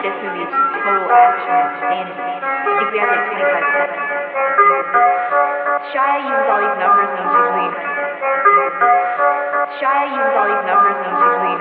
This movie is just total action and insanity. I think we have like 25 seconds. Shia uses all these numbers and it's usually Shia uses all these numbers and it's usually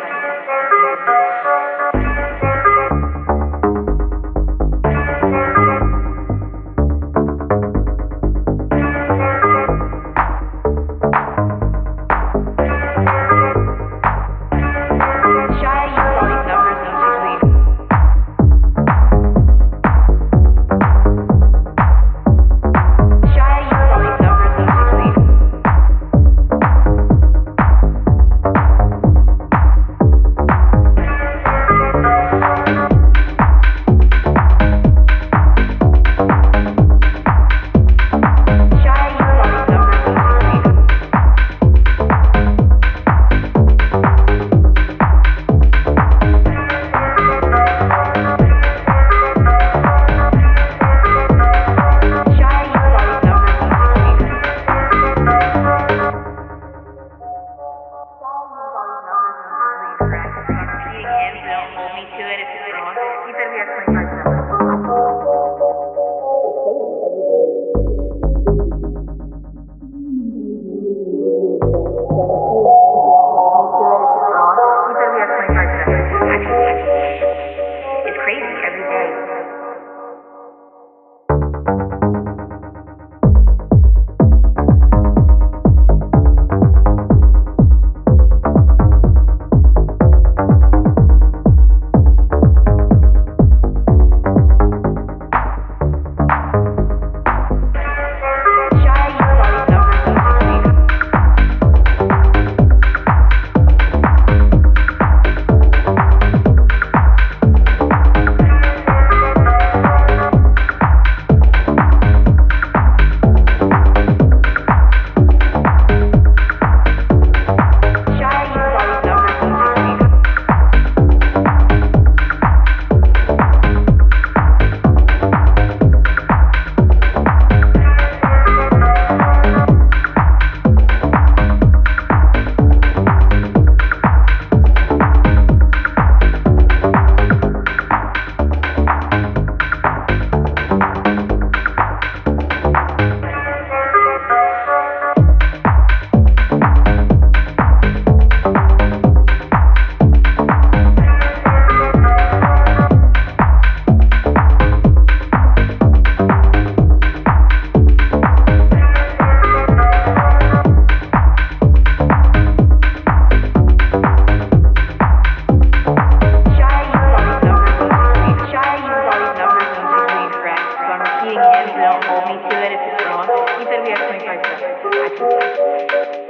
Don't hold me to it if it's wrong. He said we have 25 seconds.